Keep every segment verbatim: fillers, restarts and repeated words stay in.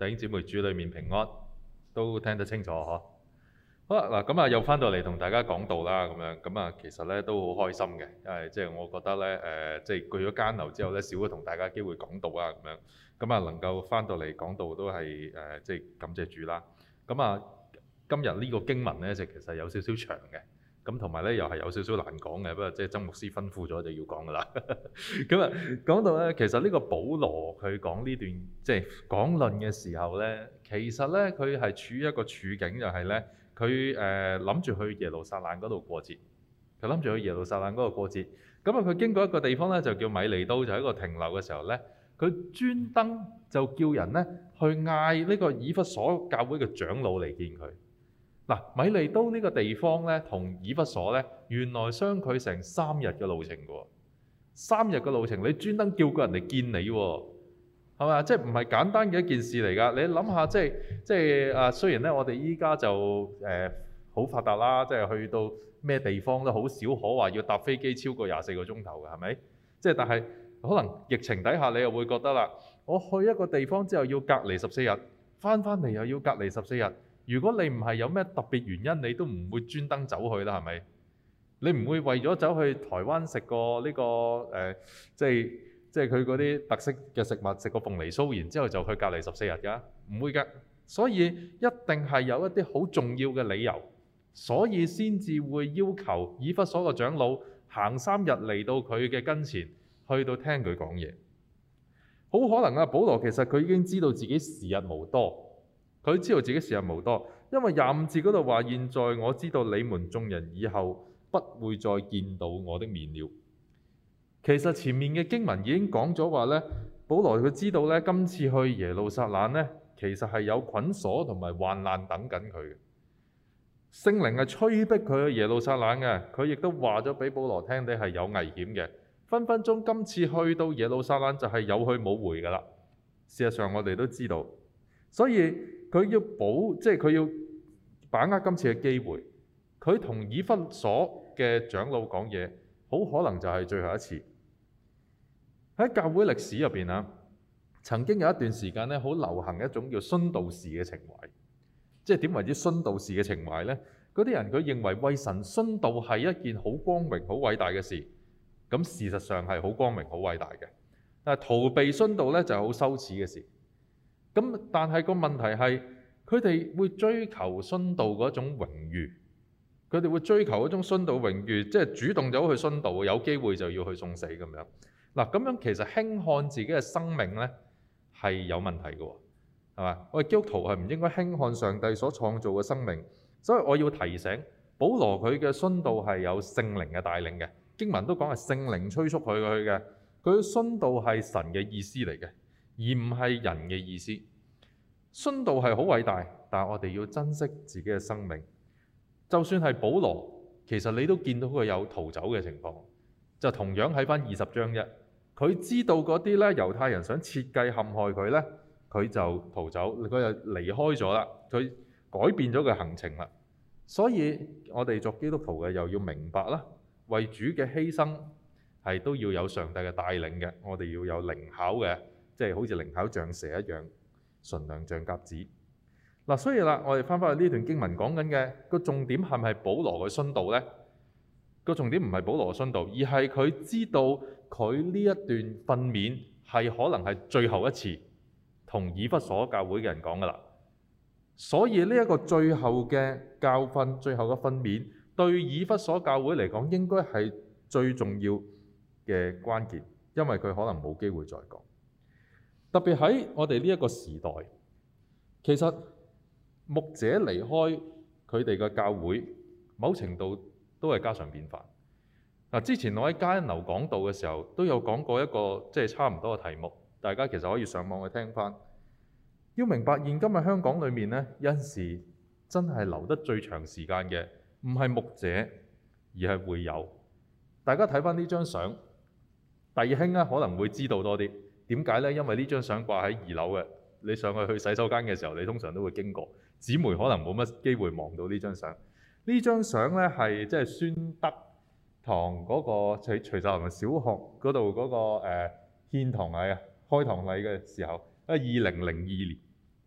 弟兄姊妹主裏面平安，都聽得清楚嗬。好啦，嗱咁啊，又翻到嚟同大家講道啦，咁樣咁啊，其實咧都好開心嘅，因為即係我覺得咧，誒、呃，即係去咗監樓之後咧，少咗同大家機會講道啊，咁樣咁啊，能夠翻到嚟講道都係誒、呃，即係感謝主啦。咁啊，今日呢個經文咧就其實有少少長嘅。咁同埋咧，又係有少少難講嘅，不過即係曾牧師吩咐咗就要講噶啦。咁啊，講到咧，其實呢個保羅佢講呢段即係講論嘅時候咧，其實咧佢係處於一個處境，就係咧佢誒諗住去耶路撒冷嗰度過節，佢諗住去耶路撒冷嗰度過節。咁啊，佢經過一個地方咧，就叫米利都，就喺一個停留嘅時候咧，佢專登就叫人咧去嗌呢個以弗所教會嘅長老嚟見佢。嗱，米利都呢個地方咧，同以弗所咧，原來相距成三日嘅路程嘅喎。三日嘅路程，你專登叫個人嚟見你喎，係嘛？即係唔係簡單嘅一件事嚟㗎？你諗下，即係即係啊，雖然咧，我哋依家就誒好、呃、發達啦，即係去到咩地方都好少可話要搭飛機超過廿四個鐘頭嘅，係咪？即係但係可能疫情底下，你又會覺得啦，我去一個地方之後要隔離十四日，翻翻嚟又要隔離十四日。如果你唔係有咩特別原因，你都唔會專登走去啦，係咪？你唔會為咗走去台灣食個呢個誒，即係即係佢嗰啲特色嘅食物，食個鳳梨酥，然之後就去隔離十四日㗎，唔會㗎。所以一定係有一啲好重要嘅理由，所以先至會要求以弗所嘅長老行三日嚟到佢嘅跟前，去到聽佢講嘢。好可能啊，保羅其實佢已經知道自己時日無多。佢知道自己時日無多，因為廿五節嗰度話：現在我知道你們眾人以後不會再見到我的面了。其實前面嘅經文已經講咗話咧，保羅佢知道咧，今次去耶路撒冷咧，其實係有捆鎖同埋患難等緊佢嘅。聖靈係催逼佢去耶路撒冷嘅，佢亦都話咗俾保羅聽，你係有危險嘅，分分鐘今次去到耶路撒冷就係有去冇回㗎啦。事實上我哋都知道，所以佢要保，即係佢要把握今次嘅機會。佢同以弗所嘅長老講嘢，好可能就係最後一次。喺教會歷史入邊啊，曾經有一段時間咧，好流行一種叫殉道士嘅情懷。即係點為之殉道士嘅情懷呢？嗰啲人佢認為為神殉道係一件好光榮、好偉大嘅事。咁事實上係好光榮、好偉大嘅。但係逃避殉道咧就係好羞恥嘅事。咁但係個問題係，佢哋會追求殉道嗰種榮譽，佢哋會追求嗰種殉道榮譽，即係主動走去殉道，有機會就要去送死咁樣。嗱，咁樣其實輕看自己嘅生命咧係有問題嘅喎，係嘛？我哋基督徒係唔應該輕看上帝所創造嘅生命，所以我要提醒保羅佢嘅殉道係有聖靈嘅帶領嘅，經文都講係聖靈催促佢去嘅，佢嘅殉道係神嘅意思嚟嘅。而唔係人嘅意思。殉道係好偉大，但係我哋要珍惜自己嘅生命。就算係保羅，其實你都見到佢有逃走嘅情況。就同樣喺翻二十章一，佢知道嗰啲咧猶太人想設計陷害佢咧，佢就逃走，佢就離開咗啦，佢改變咗佢行程啦。所以我哋作基督徒嘅又要明白啦，為主嘅犧牲係都要有上帝嘅帶領嘅，我哋要有靈巧嘅。即係好似靈巧像蛇一樣，純良像鴿子。嗱，所以啦，我哋翻返去呢段經文講緊嘅個重點係咪保羅嘅殉道呢？個重點唔係保羅嘅殉道，而係佢知道佢呢一段訓勉係可能係最後一次同以弗所教會嘅人講噶啦。所以呢一個最後嘅教訓、最後嘅訓勉，對以弗所教會嚟講應該係最重要嘅關鍵，因為佢可能冇機會再講。特別喺我哋呢一個時代，其實牧者離開佢哋嘅教會，某程度都係家常便飯。嗱，之前我喺加恩樓講道嘅時候，都有講過一個即係差唔多嘅題目，大家其實可以上網去聽翻。要明白現今嘅香港裏面呢，有陣時真係留得最長時間嘅，唔係牧者，而係會友。大家睇翻呢張相，弟兄咧可能會知道多啲。點解呢？因為呢張相掛喺二樓嘅，你上去去洗手間嘅時候，你通常都會經過。姊妹可能冇乜機會望到呢張相。呢張相呢係即係宣德堂嗰個徐徐秀林小學嗰度嗰個誒獻堂禮啊，開堂禮嘅時候，啊二零零二年。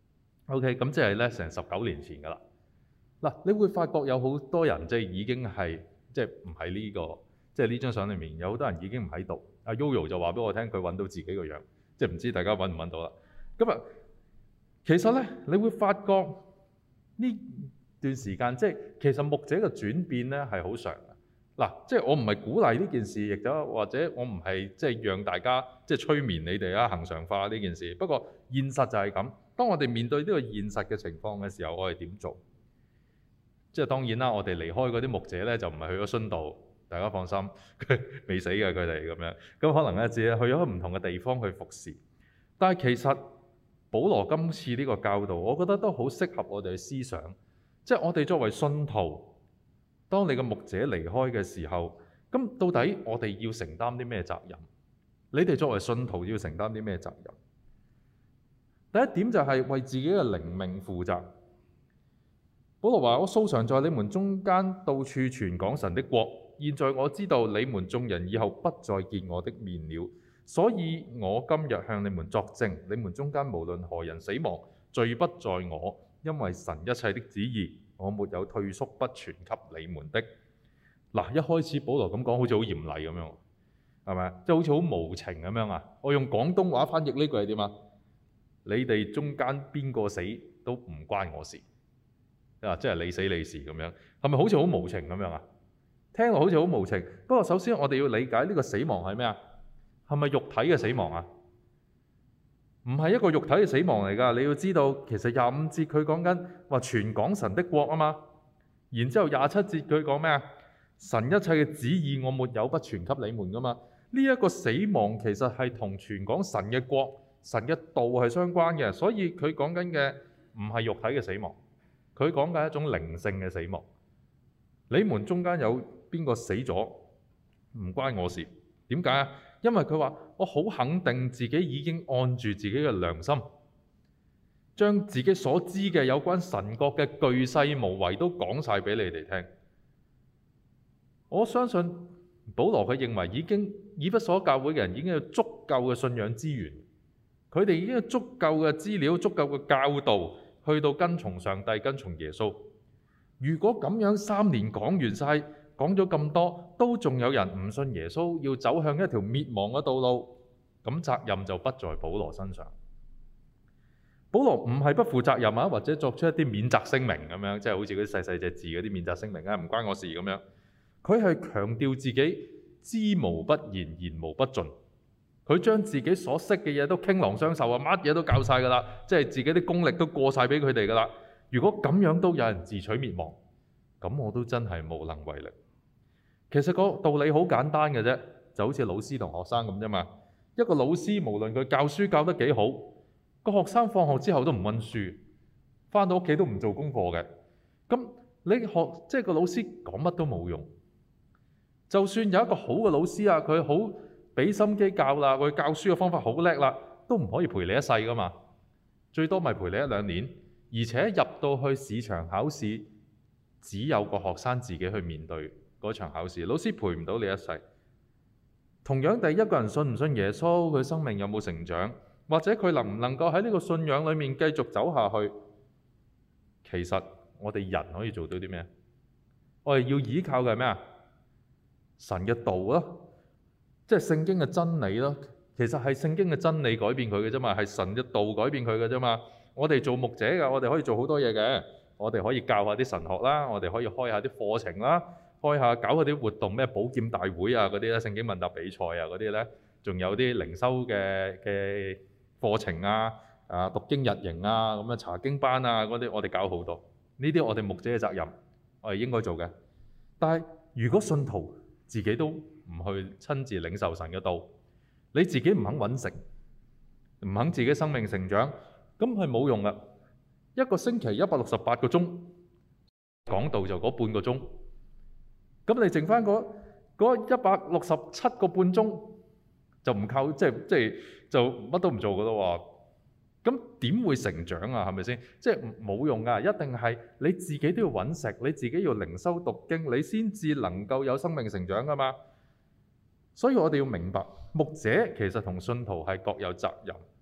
OK， 咁即係咧成十九年前㗎啦。嗱，你會發覺有好多人即係已經係即係唔喺呢個即係呢張相裏面，有好多人已經唔喺度。阿 Yoyo 就話俾我聽，佢揾到自己個樣，即係唔知大家揾唔揾到啦。咁啊，其實咧，你會發覺呢段時間即係其實牧者嘅轉變咧係好長嘅。嗱，即係我唔係鼓勵呢件事，亦都或者我唔係即係讓大家即係催眠你哋啊，恆常化呢件事。不過現實就係咁，當我哋面對呢個現實嘅情況嘅時候，我哋點做？即係當然啦，我哋離開嗰啲牧者咧，就唔係去咗殉道，大家放心，佢未死嘅佢哋咁樣。咁可能咧只係去咗唔同嘅地方去服侍。但係其實保羅今次呢個教導，我覺得都好適合我哋嘅思想。即係我哋作為信徒，當你嘅牧者離開嘅時候，咁到底我哋要承擔啲咩責任？你哋作為信徒要承擔啲咩責任？第一點就係為自己嘅靈命負責。保羅話：我素常在你們中間到處傳講神的國，現在我知道你們眾人以後不再見我的面了，所以我今日向你們作證，你們中間無論何人死亡，罪不在我，因為神一切的旨意，我沒有退縮不傳給你們的。嗱，一開始保羅咁講，好似好嚴厲咁樣，係咪？即係好似好無情咁樣啊！我用廣東話翻譯呢句係點啊？你哋中間邊個死都唔關我事。啊！即係你死你事咁樣，係咪好似好無情咁樣啊？聽落好似好無情。不過首先我哋要理解呢個死亡係咩啊？係咪肉體嘅死亡啊？唔係一個肉體嘅死亡嚟㗎。你要知道，其實廿五節佢講緊話傳講神的國啊嘛。然之後廿七節佢講咩啊？神一切嘅旨意我沒有不傳給你們㗎嘛。呢一個死亡其實係同傳講神嘅國、神嘅道係相關嘅，所以佢講緊嘅唔係肉體嘅死亡。佢講嘅係一種靈性嘅死亡。你們中間有邊個死咗，唔關我事。點解啊？因為佢話我好肯定自己已經按住自己嘅良心，將自己所知嘅有關神國嘅巨細無遺都講晒俾你哋聽。我相信保羅佢認為已經以弗所教會嘅人已經有足夠嘅信仰資源，佢哋已經有足夠嘅資料、足夠嘅教導，去到跟從上帝、跟從耶穌。如果咁樣三年講完晒，講咗咁多，都仲有人唔信耶穌，要走向一條滅亡嘅道路，咁責任就不在保羅身上。保羅唔係不負責任啊，或者作出一啲免責聲明咁樣，即係好似嗰啲細細隻字嗰啲免責聲明啊，唔關我事咁樣。佢係強調自己知無不言，言無不盡。佢將自己所識嘅嘢都傾囊相授啊，乜嘢都教晒㗎啦，即係自己啲功力都過晒俾佢哋㗎啦。如果咁樣都有人自取滅亡，咁我都真係無能為力。其實個道理好簡單嘅啫，就好似老師同學生咁啫嘛。一個老師無論佢教書教得幾好，個學生放學之後都唔溫書，返到屋企都唔做功課嘅。咁你學即係個老師講乜都冇用。就算有一個好嘅老師啊，佢好俾心機教啦，佢教書嘅方法好叻啦，都唔可以陪你一世㗎嘛。最多咪陪你一兩年，而且入到去試場考試，只有個學生自己去面對嗰場考試，老師陪唔到你一世。同樣地，一個人信唔信耶穌，佢生命有冇成長，或者佢能唔能夠喺呢個信仰裡面繼續走下去，其實我哋人可以做到啲咩？我哋要依靠嘅係咩啊？神嘅道咯，即係聖經嘅真理咯。其實係聖經嘅真理改變佢嘅啫嘛，係神嘅道改變佢嘅啫嘛。我哋做牧者嘅，我哋可以做好多嘢嘅。我哋可以教下啲神學啦，我哋可以開下啲課程啦，開下搞下啲活動，咩寶劍大會啊嗰啲咧，聖經問答比賽啊嗰啲咧，仲有啲靈修嘅嘅課程啊，啊讀經日營啊，咁樣查經班啊嗰啲，我哋搞好多。呢啲我哋牧者嘅責任，我哋應該做嘅。但係如果信徒自己都唔去親自領受神嘅道，你自己唔肯揾食，唔肯自己生命成長，咁係冇用噶。一個星期一百六十八個鐘講道就嗰半個鐘，咁你剩翻嗰嗰一百六十七個半鐘就唔靠，即係即係就乜都唔做噶咯喎。咁點會成長啊？係咪先？即係冇用噶，一定係你自己都要揾食，你自己要靈修讀經，你先至能夠有生命成長噶嘛。所以我哋要明白，牧者其實同信徒係各有責任。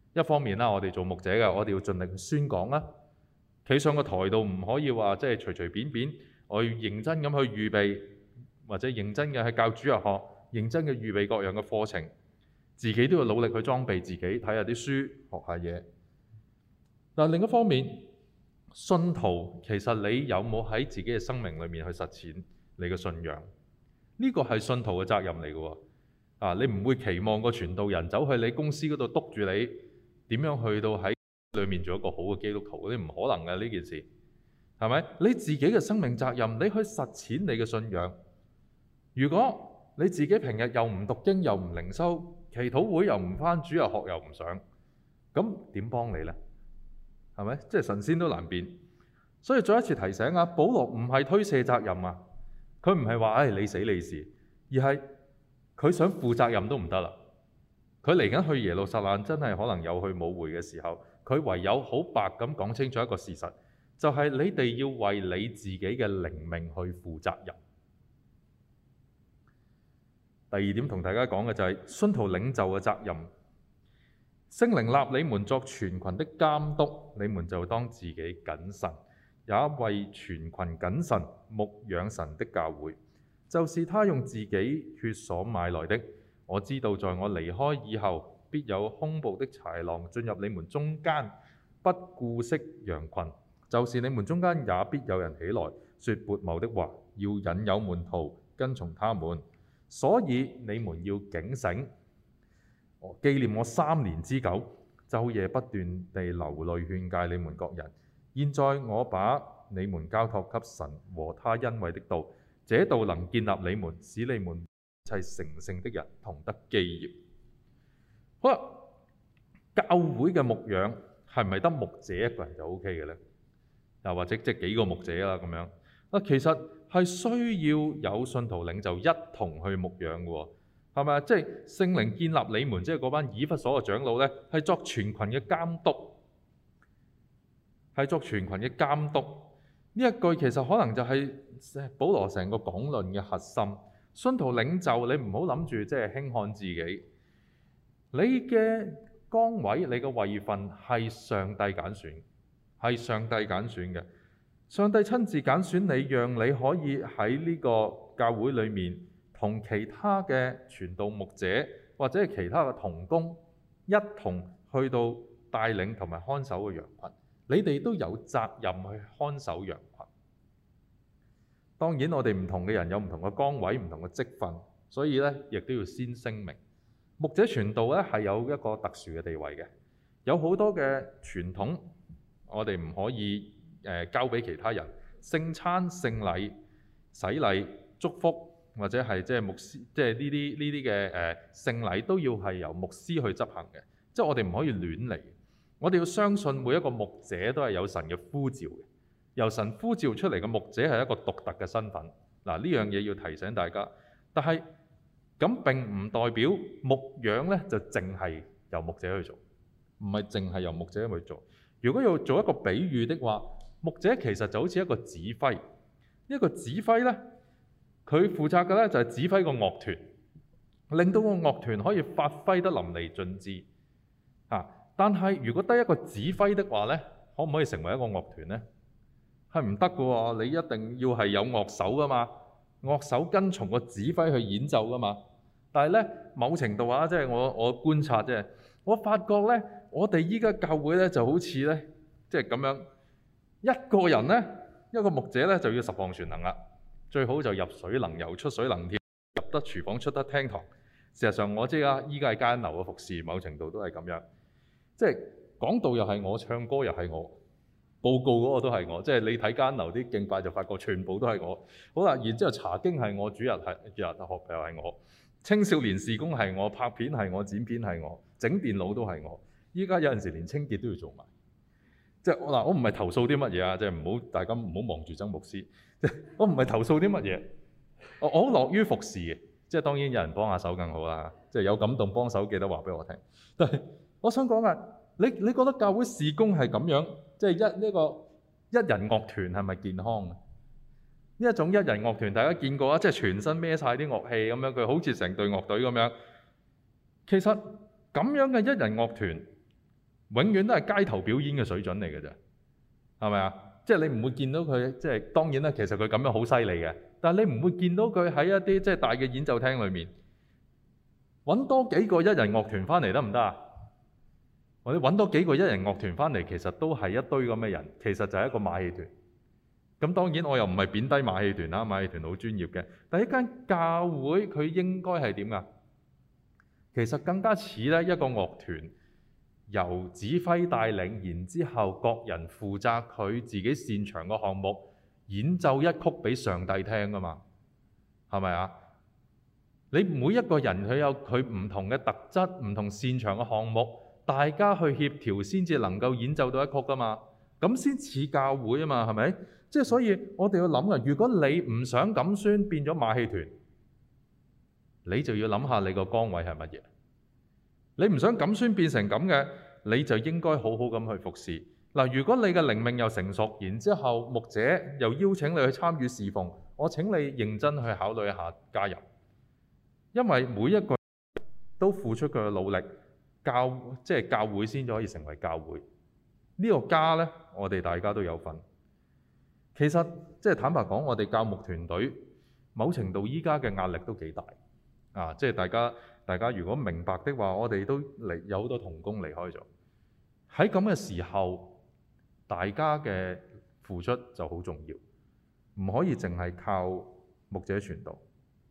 一方面啦，我哋做牧者嘅，我哋要盡力去宣講啦。企上個台度唔可以話即係隨隨便便，我要認真咁去預備，或者認真嘅去教主日學，認真嘅預備各樣嘅課程，自己都要努力去裝備自己，睇下啲書，學下嘢。但另一方面，信徒其實你有冇喺自己嘅生命裏面去實踐你嘅信仰？呢個係信徒嘅責任嚟嘅喎。啊，你唔會期望個傳道人走去你公司嗰度督住你點樣去到喺裏面做一個好嘅基督徒，你唔可能嘅呢件事，係咪？你自己嘅生命責任，你去實踐你嘅信仰。如果你自己平日又唔讀經又唔靈修，祈禱會又唔返，主日學又唔上，咁點幫你呢？係咪？即係神仙都難變。所以再一次提醒啊，保羅唔係推卸責任啊，佢唔係話唉你死你事，而係佢想負責任都唔得啦。佢嚟緊去耶路撒冷，真係可能有去舞會嘅時候，佢唯有好白咁講清楚一個事實，就係你哋要為你自己嘅靈命去負責任。第二點同大家講嘅就係信徒領袖嘅責任。聖靈立你們作全群的監督，你們就當自己謹慎，也為全群謹慎牧養神的教會，就是他用自己血所買來的。我知道在我離開以後，必有兇暴的豺狼進入你們中間，不顧惜羊群。就是你們中間也必有人起來說悖謬的話，要引誘門徒跟從他們。所以你們要警醒，紀念我三年之久，晝夜不斷地流淚勸戒你們各人。現在我把你們交託給神和他恩惠的道，這道能建立你們，使你們一切成聖的人同得基業。好啦，教會嘅牧養係咪得牧者一個人就 O K 嘅呢？又或者即係幾個牧者啦咁樣啊？其實係需要有信徒領袖一同去牧養嘅喎，係咪啊？即係聖靈建立你們，即係嗰班以弗所嘅長老呢，係作全群嘅監督，係作全群嘅監督。呢一句其實可能就係保羅成個講論嘅核心。信徒領袖，你唔好諗住即係輕看自己，你嘅崗位、你嘅位份係上帝揀選，係上帝揀選嘅。上帝親自揀選你，讓你可以喺呢個教會裏面同其他嘅傳道牧者或者係其他嘅同工一同去到帶領同埋看守嘅羊群。你哋都有責任去看守羊群。當然，我哋唔同嘅人有唔同嘅崗位、唔同嘅職分，所以咧亦都要先聲明，牧者傳道咧係有一個特殊嘅地位嘅，有好多嘅傳統，我哋唔可以誒、呃、交俾其他人。聖餐、聖禮、洗禮、祝福或者係即係牧師，即係呢啲呢啲嘅誒聖禮都要係由牧師去執行嘅，即係我哋唔可以亂嚟。我哋要相信每一個牧者都係有神嘅呼召嘅。由神呼召出嚟嘅牧者係一個獨特嘅身份，嗱，呢樣嘢要提醒大家。但係咁並唔代表牧養呢就淨係由牧者去做，唔係淨係由牧者去做。如果要做一個比喻的話，牧者其實就好似一個指揮，一個指揮呢，佢負責嘅呢就係指揮個樂團，令到個樂團可以發揮得淋漓盡致。啊，但係如果得一個指揮的話呢，可唔可以成為一個樂團呢？係唔得嘅喎，你一定要係有樂手噶嘛，樂手跟從個指揮去演奏噶嘛。但係咧，某程度啊，即係我我觀察啫，我發覺咧，我哋依家教會咧就好似咧，即係咁樣，一個人咧，一個牧者咧就要十項全能啦，最好就入水能游，出水能跳，入得廚房出得廳堂。事實上，我知啊，依家係間樓嘅服侍，某程度都係咁樣，即係講道又係我，唱歌又係我。報告嗰個都係我，即係你睇間樓啲敬拜就發覺全部都係我。好啦，然之後查經係我，主日係主日學又係我，青少年事工係我，拍片係我，剪片係我，整電腦都係我。依家有陣時連清潔都要做埋。即係嗱，我唔係投訴啲乜嘢啊，即係唔好大家唔好望住曾牧師。即係我唔係投訴啲乜嘢，我我好樂於服侍嘅。即係當然有人幫下手更好啦。即係有感動幫手，記得話俾我聽。但係我想講啊。你你覺得教會事工係咁樣，即係一呢個一人樂團係咪健康嘅？呢一種一人樂團大家見過啊，即係全身孭晒啲樂器咁樣，佢好似成隊樂隊咁樣。其實咁樣嘅一人樂團永遠都係街頭表演嘅水準嚟嘅啫，係咪啊？即係你唔會見到佢，即係當然啦，其實佢咁樣好犀利嘅，但係你唔會見到佢喺一啲即係大嘅演奏廳裏面揾多幾個一人樂團翻嚟得唔得啊？或者揾多幾個一人樂團翻嚟，其實都係一堆咁嘅人，其實就係一個馬戲團。咁當然我又唔係貶低馬戲團啦，馬戲團好專業嘅，但係一間教會佢應該係點㗎？其實更加似咧一個樂團。由指揮帶領，然之後各人負責佢自己擅長嘅項目，演奏一曲俾上帝聽㗎嘛，係咪啊？你每一個人佢有佢唔同嘅特質，唔同擅長嘅項目，大家去協調先至能夠演奏到一曲㗎嘛，咁先似教會啊嘛，係咪？即係所以我哋要諗啊，如果你唔想錦宣變咗馬戲團，你就要諗下你個崗位係乜嘢。你唔想錦宣變成咁嘅，你就應該好好咁去服侍。嗱，如果你嘅靈命又成熟，然之後牧者又邀請你去參與侍奉，我請你認真去考慮一下加入，因為每一個人都付出佢嘅努力，教即係教會先至可以成為教會。呢個家呢，我哋大家都有份。其實即係坦白講，我哋教牧團隊某程度依家嘅壓力都幾大啊！即係大家。大家如果明白的話，我哋都離有好多同工離開咗。喺咁嘅時候，大家嘅付出就好重要，唔可以淨係靠牧者傳道。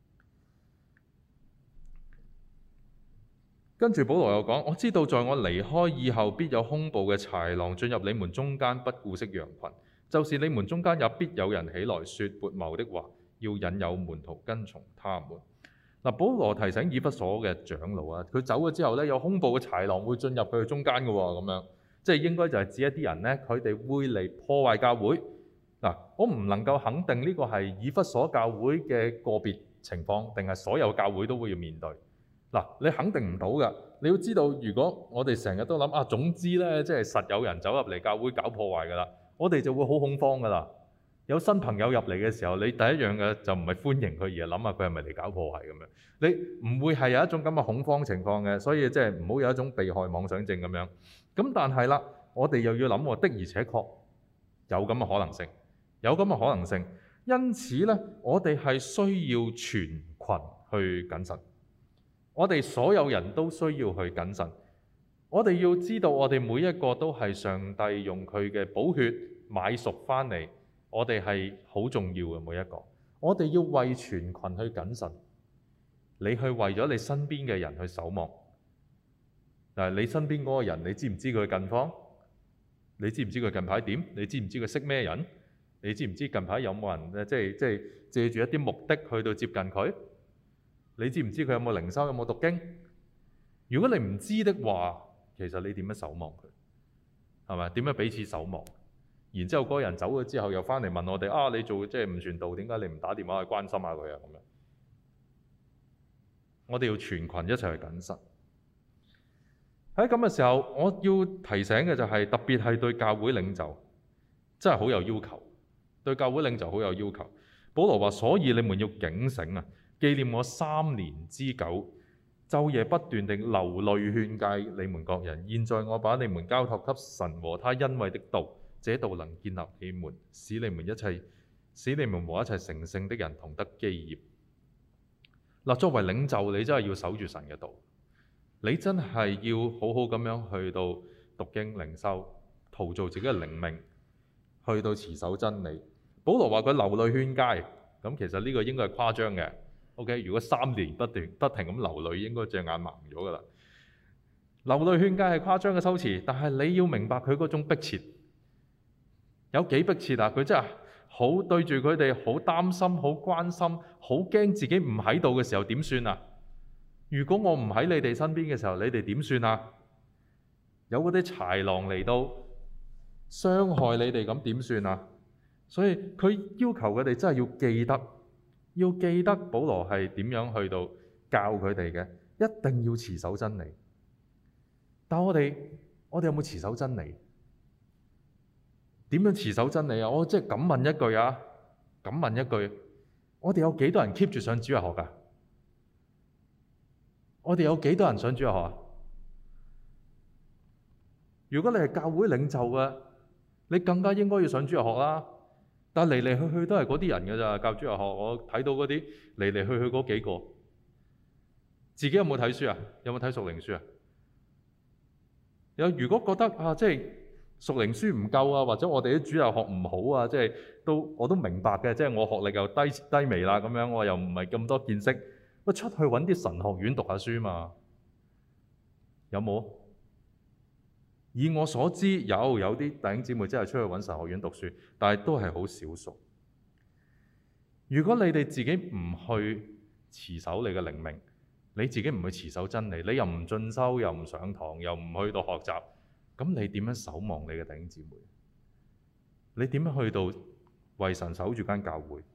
跟住保羅又講：我知道在我離開以後，必有兇暴嘅豺狼進入你們中間，不顧惜羊群。就是你們中間也必有人起來說悖謬的話，要引誘門徒跟從他們。嗱，保羅提醒以弗所嘅長老啊，佢走咗之後咧，有兇暴嘅豺狼會進入佢哋中間嘅喎，咁樣即係應該就係指一啲人咧，佢哋會嚟破壞教會。嗱，我唔能夠肯定呢個係以弗所教會嘅個別情況，定係所有教會都會要面對。嗱，你肯定唔到㗎。你要知道，如果我哋成日都諗啊，總之咧，即係實有人走入嚟教會搞破壞㗎啦，我哋就會好恐慌㗎啦。有新朋友入嚟嘅時候，你第一樣嘅就唔係歡迎佢，而係諗下佢係咪嚟搞破壞咁樣。你唔會係有一種咁嘅恐慌情況嘅，所以即係唔好有一種被害妄想症咁樣。咁但係啦，我哋又要諗喎，的而且確有咁嘅可能性，有咁嘅可能性。因此咧，我哋係需要全群去謹慎。我哋所有人都需要去謹慎。我哋要知道，我哋每一個都係上帝用佢嘅寶血買贖翻嚟。我哋係好重要嘅每一個，我哋要為全群去謹慎。你去為咗你身邊嘅人去守望。嗱，你身邊嗰個人，你知唔知佢近況？你知唔知佢近排點？你知唔知佢識咩人？你知唔知近排有冇人即係即係借住一啲目的去到接近佢？你知唔知佢有冇靈修？有冇讀經？如果你唔知的話，其實你點樣守望佢？係咪？點樣彼此守望？然之後嗰個人走咗之後，又翻嚟問我哋啊，你做即係唔傳道，點解你唔打電話去關心下佢啊？咁樣，我哋要全群一齊去謹慎。喺咁嘅時候，我要提醒嘅就係、是、特別係對教會領袖，真係好有要求。對教會領袖好有要求。保羅話：所以你們要警醒啊，紀念我三年之久，晝夜不斷地流淚勸誡你們各人。現在我把你們交託給神和他恩惠的道。這道能建立你們，使你們一切，使你們和一切成聖的人同得基業。嗱，作為領袖，你真係要守住神嘅道，你真係要好好咁樣去到讀經靈修，陶造自己嘅靈命，去到持守真理。保羅話佢流淚勸誡，咁其實呢個應該係誇張嘅。OK， 如果三年不斷不停咁流淚，應該隻眼盲咗㗎啦。流淚勸誡係誇張嘅修辭，但係你要明白佢嗰種迫切。有幾迫切啊！佢真係好對住佢哋，好擔心，好關心，好驚自己唔喺度嘅時候點算啊？如果我唔喺你哋身邊嘅時候，你哋點算啊？有嗰啲豺狼嚟到傷害你哋，咁點算啊？所以佢要求佢哋真係要記得，要記得保羅係點樣去到教佢哋嘅，一定要持守真理。但我哋我哋有冇持守真理？點樣持守真理啊？我即係咁問一句啊，咁問一句，我哋有幾多人 keep 住上主日學㗎？我哋有幾多人上主日學啊？ 如果你係教會領袖嘅，你更加應該要上主日學啦。但係嚟嚟去去都係嗰啲人㗎咋，教主日學我睇到嗰啲嚟嚟去去嗰幾個，自己有冇睇書啊？有冇睇屬靈書啊？有如果覺得啊，即係屬靈書唔夠啊，或者我哋啲主日學唔好啊，即係都我都明白嘅，即係我學歷又低低微啦，咁樣我又唔係咁多見識，我出去揾啲神學院讀下書嘛，有冇？以我所知，有有啲弟兄姊妹真係出去揾神學院讀書，但係都係好少數。如果你哋自己唔去持守你嘅靈命，你自己唔去持守真理，你又唔進修，又唔上堂，又唔去到學習，咁你點樣守望你嘅弟兄姊妹？你點樣去到為神守住間教會？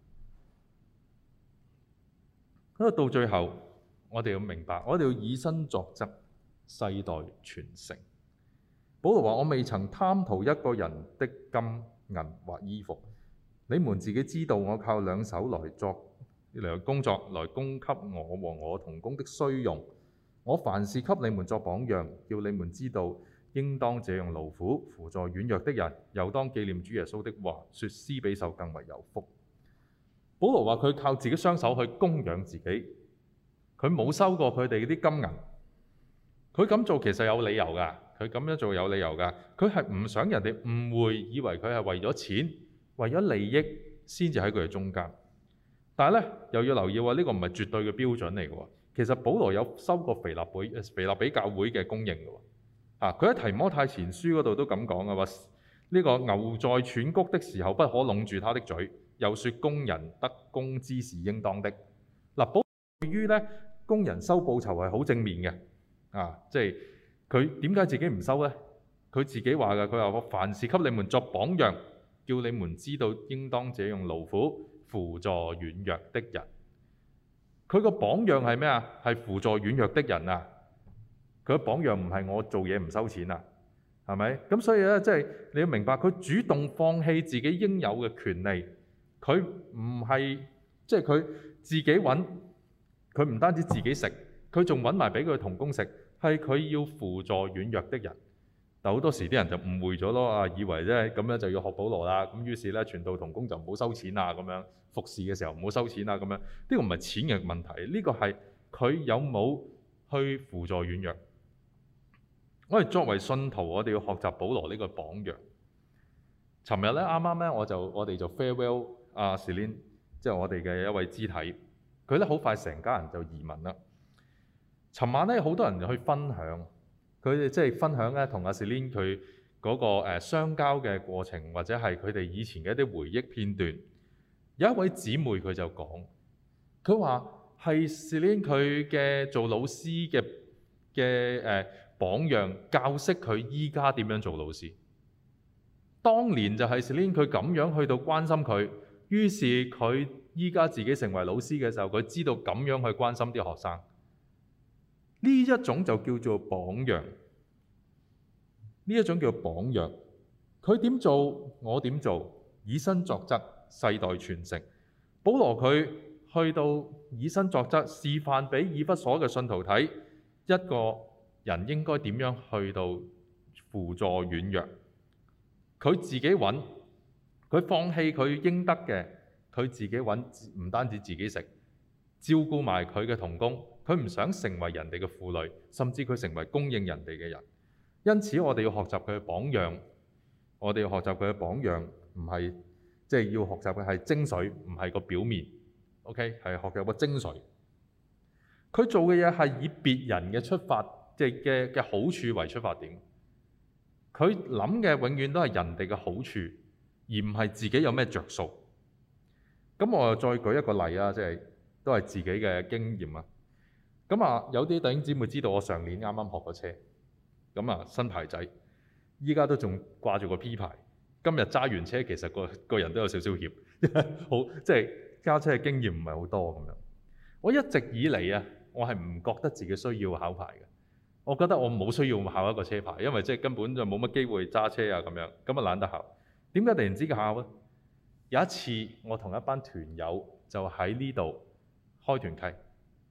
因為到最後，我哋要明白，我哋要以身作則，世代傳承。保羅話：我未曾貪圖一個人的金銀或衣服，你們自己知道，我靠兩手來作來工作，來供給我和我同工的需用。我凡事給你們作榜樣，叫你們知道應當這樣勞苦，扶助軟弱的人，又當紀念主耶穌的話，說施比受更為有福。保羅話佢靠自己雙手去供養自己，佢冇收過佢哋啲金銀。佢咁做其實有理由㗎。佢咁樣做有理由㗎，佢係唔想人哋誤會，以為佢係為咗錢、為咗利益先至喺佢哋中間。但係咧又要留意喎，呢個唔係絕對嘅標準嚟嘅喎。其實保羅有收過腓立比、腓立比教會嘅供應嘅喎。啊，佢喺提摩太前書嗰度都咁講嘅話，呢個牛在喘谷的時候不可攏住他的嘴，又說工人得工資是應當的。嗱，保羅對於咧工人收報酬係好正面嘅。啊，即係。佢點解自己唔收呢？佢自己話嘅，佢話我凡事給你們作榜樣，叫你們知道應當這樣勞苦，扶助軟弱的人。佢個榜樣係咩啊？係扶助軟弱的人啊！佢個榜樣唔係我做嘢唔收錢啊，係咪？咁所以咧，即係你要明白，佢主動放棄自己應有嘅權利，佢唔係即係佢自己揾，佢唔單止自己食，佢仲揾埋俾佢同工食。係佢要輔助軟弱的人，但好多時啲人就誤會咗咯，啊，以為咧咁樣就要學保羅啦，咁於是咧傳道同工就唔好收錢啊，咁樣服侍嘅時候唔好收錢啊，咁樣呢個唔係錢嘅問題，呢個係佢有冇去輔助軟弱。我哋作為信徒，我哋要學習保羅呢個榜樣。尋日咧啱啱咧我就我哋就 farewell 阿 Celine， 即係我哋嘅一位肢體，佢咧好快成家人就移民啦。尋晚咧，好多人去分享，佢哋即係分享咧，同阿 Celine 佢嗰個誒相交嘅過程，或者係佢哋以前嘅一啲回憶片段。有一位姊妹佢就講，佢話係 Celine 佢嘅做老師嘅嘅誒榜樣，教識佢依家點樣做老師。當年就係 Celine 佢咁樣去到關心佢，於是佢依家自己成為老師嘅時候，佢知道咁樣去關心啲學生。呢一種就叫做榜樣，呢一種叫榜樣。佢點做，我點做，以身作則，世代傳承。保羅佢去到以身作則，示範俾以弗所嘅信徒睇，一個人應該點樣去到輔助軟弱。佢自己揾，佢放棄佢應得嘅，佢自己揾，唔單止自己食，照顧埋佢嘅同工。佢唔想成為人哋嘅負累，甚至佢成為供應人哋嘅人。因此我哋要學習佢嘅榜樣，我哋要學習佢嘅榜樣，唔係即係要學習嘅係精髓，唔係個表面。OK， 係學習個精髓。佢做嘅嘢係以別人嘅出發，即係嘅嘅好處為出發點。佢諗嘅永遠都係人哋嘅好處，而唔係自己有咩着數。咁我又再舉一個例啊，即係都係自己嘅經驗啊。咁啊，有啲弟兄姊妹知道我上年啱啱學過車，咁啊新牌仔，依家都仲掛住個 P 牌。今日揸完車，其實個個人都有少少怯，好即係揸車嘅經驗唔係好多咁樣。我一直以嚟啊，我係唔覺得自己需要考牌嘅。我覺得我冇需要考一個車牌，因為即係根本就冇乜機會揸車啊咁樣，咁啊懶得考。點解突然之間考咧？有一次我同一班團友就喺呢度開團契。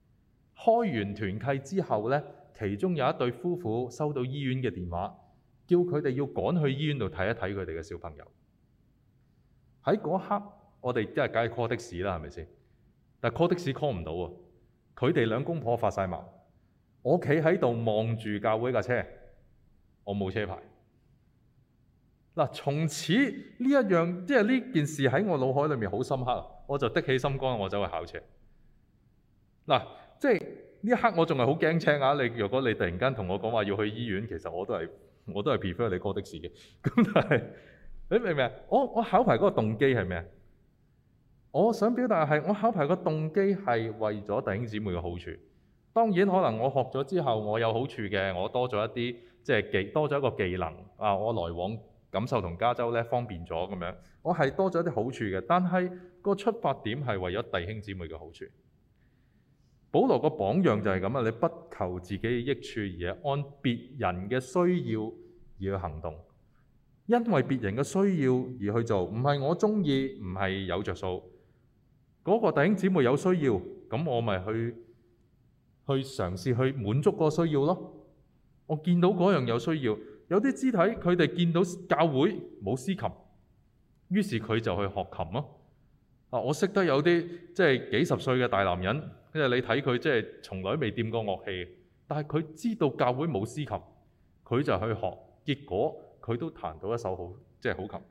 開完團契之後呢，其中有一對夫婦收到醫院嘅電話， 叫佢哋要趕去醫院度睇一睇佢哋嘅小朋友。喺嗰刻，我哋即係梗係 call 的士啦，係咪先？但係 call 的士 call 唔到喎，佢哋兩公婆發晒毛。我企喺度望住教會架車，我冇車牌。嗱，從此呢一樣，即係呢件事喺我腦海裏面好深刻，我就的起心肝，我走去考車。嗱，即係呢一刻我仲係好驚青啊！你如果你突然間同我講話要去醫院，其實我都係我都係 prefer 你 call 的士嘅。咁但係你明唔明啊？我我考牌嗰個動機係咩啊？我想表達係我考牌個動機係為咗弟兄姊妹嘅好處。當然可能我學咗之後我有好處嘅，我多咗一啲即係技多咗一個技能啊，我來往感受同加州咧方便咗咁樣，我係多咗一啲好處嘅。但係個出發點係為咗弟兄姊妹嘅好處。保羅個榜樣就係咁啊！你不求自己嘅益處，而係按別人嘅需要而去行動，因為別人嘅需要而去做，唔係我中意，唔係有着數。嗰個弟兄姊妹有需要，咁我咪去去嘗試去滿足個需要咯。我見到嗰樣有需要，有啲肢體佢哋見到教會冇司琴，於是佢就去學琴咯。啊，我識得有啲即係幾十歲嘅大男人，即係你睇佢即係從來未掂過樂器，但係佢知道教會冇司琴，佢就去學，結果佢都彈到一手好即係好琴。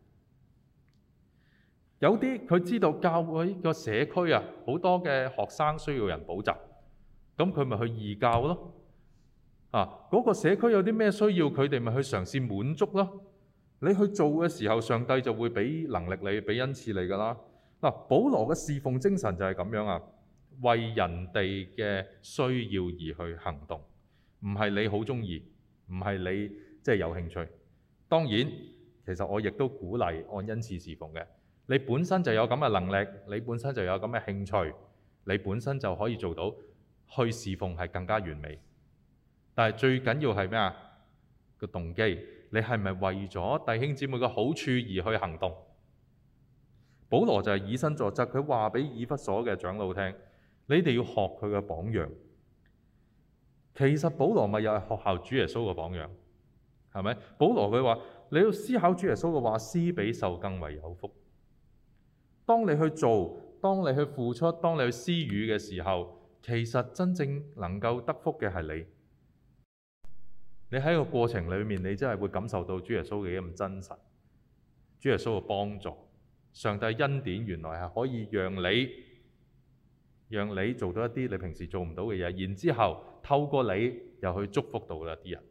有啲佢知道教會個社區啊，好多嘅學生需要人補習，咁佢咪去義教咯。啊，嗰個社區有啲咩需要，佢哋咪去嘗試滿足咯。你去做嘅時候，上帝就會俾能力你，俾恩賜你㗎啦。嗱，保羅嘅侍奉精神就係咁樣啊，為人哋嘅需要而去行動，唔係你好中意，唔係你即係有興趣。當然，其實我亦都鼓勵按恩賜侍奉嘅。你本身就有咁嘅能力，你本身就有咁嘅興趣，你本身就可以做到去侍奉係更加完美。但係最緊要係咩啊？個動機，你係咪為咗弟兄姊妹嘅好處而去行動？保羅就係以身作則，佢話俾以弗所嘅長老聽，你哋要學佢嘅榜樣。其實保羅咪又係學效主耶穌嘅榜樣，係咪？保羅佢話你要思考主耶穌嘅話，施比受更為有福。當你去做，當你去付出，當你去施予嘅時候，其實真正能夠得福嘅係你。你喺個過程裏面，你真係會感受到主耶穌嘅咁真實，主耶穌嘅幫助，上帝恩典原來係可以讓你，讓你做到一啲你平時做唔到嘅嘢，然之後透過你又去祝福到一啲人。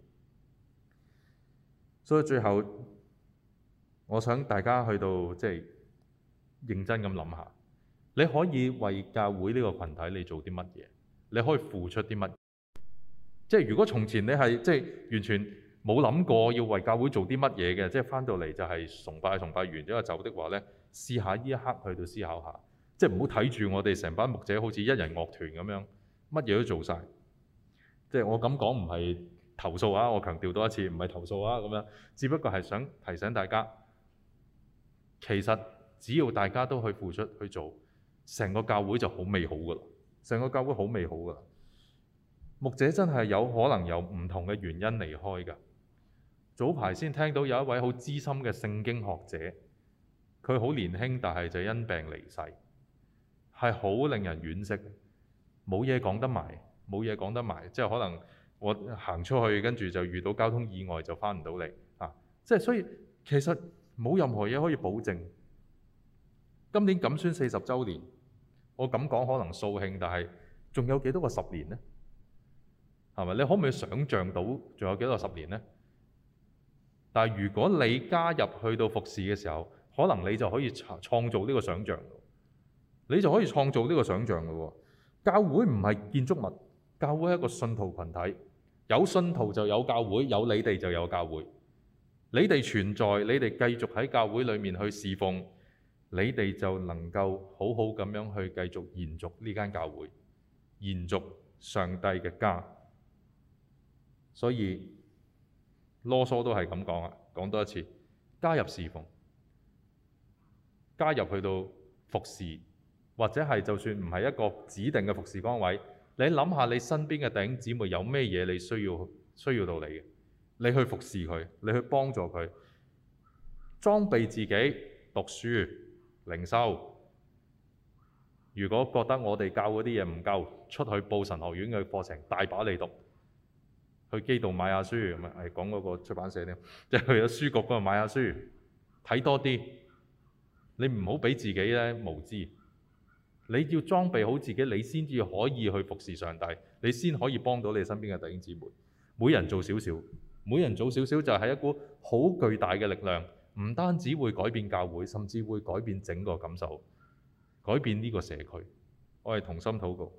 所以最後，我想大家去到即係認真咁諗下，你可以為教會呢個群體你做啲乜嘢？你可以付出啲乜？即係如果從前你係即係完全冇諗過要為教會做啲乜嘢嘅，即係翻到嚟就係崇拜崇拜完之後走的話咧，試下呢一刻去到思考下，即係唔好睇住我哋成班牧者好似一人樂團咁樣，乜嘢都做晒。即係我咁講唔係投訴啊，我強調多一次，唔係投訴啊咁樣，只不過係想提醒大家，其實只要大家都去付出去做，成個教會就好美好噶啦，成個教會好美好噶啦。牧者真係有可能有唔同嘅原因離開㗎。早排先聽到有一位好資深嘅聖經學者，佢好年輕，但係就因病離世，係好令人惋惜。冇嘢講得埋，冇嘢講得埋，即係可能我行出去跟住就遇到交通意外就翻唔到嚟啊！即係所以其實冇任何嘢可以保證。今年錦宣四十週年，我咁講可能掃興，但係仲有幾多個十年呢？係咪？你可唔可以想像到仲有幾多個十年呢？但係如果你加入去到服侍嘅時候，可能你就可以創造呢個想像，你就可以創造呢個想像嘅喎。教會唔係建築物，教會係一個信徒群體，有信徒就有教會，有你哋就有教會。你哋存在，你哋繼續喺教會裡面去侍奉，你哋就能夠好好咁樣去繼續延續呢間教會，延續上帝嘅家。所以囉嗦都係咁講啊，講多一次，加入侍奉，加入去到服侍，或者係就算唔係一個指定嘅服侍崗位，你諗下你身邊嘅弟兄姊妹有咩嘢你需要需要到你嘅， 你去服侍佢，你去幫助佢，裝備自己讀書、靈修。如果覺得我哋教嗰啲嘢唔夠，出去報神學院嘅課程大把你讀，去基道買下書，咁啊係講嗰個出版社添，即係去咗書局嗰度買下書，睇多啲。你唔好俾自己咧無知，你要裝備好自己，你先至可以去服侍上帝，你先可以幫到你身邊嘅弟兄姊妹。每人做少少，每人做少少就係一股好巨大嘅力量，唔單止會改變教會，甚至會改變整個感受，改變呢個社區。我哋同心禱告。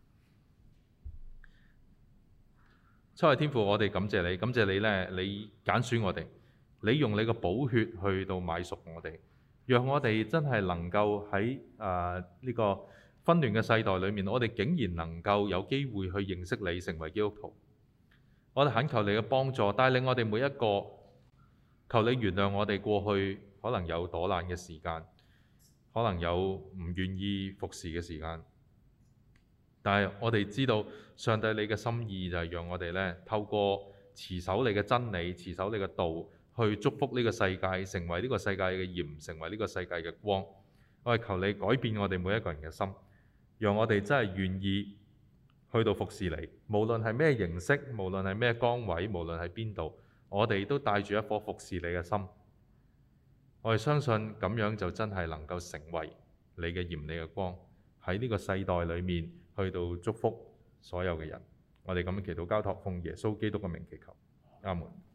七位天父，我哋感謝你，感謝你呢，你揀選我哋，你用你個寶血去到買贖我哋，讓我哋真係能夠喺誒呢個紛亂嘅世代裏面，我哋竟然能夠有機會去認識你，成為基督徒。我哋懇求你嘅幫助，帶領我哋每一個，求你原諒我哋過去可能有躲懶嘅時間，可能有唔願意服侍嘅時間。但係我哋知道上帝你嘅心意就係讓我哋咧透過持守你嘅真理、持守你嘅道，去祝福呢個世界，成為呢個世界嘅鹽，成為呢個世界嘅光。我哋求你改變我哋每一個人嘅心，讓我哋真係願意去到服侍你，無論係咩形式，無論係咩崗位，無論喺邊度，我哋都帶住一顆服侍你嘅心。我哋相信咁樣就真係能夠成為你嘅鹽、你嘅光，喺呢個世代裏面去到祝福所有嘅人。我哋咁樣祈禱交託，奉耶穌基督嘅名祈求，阿門。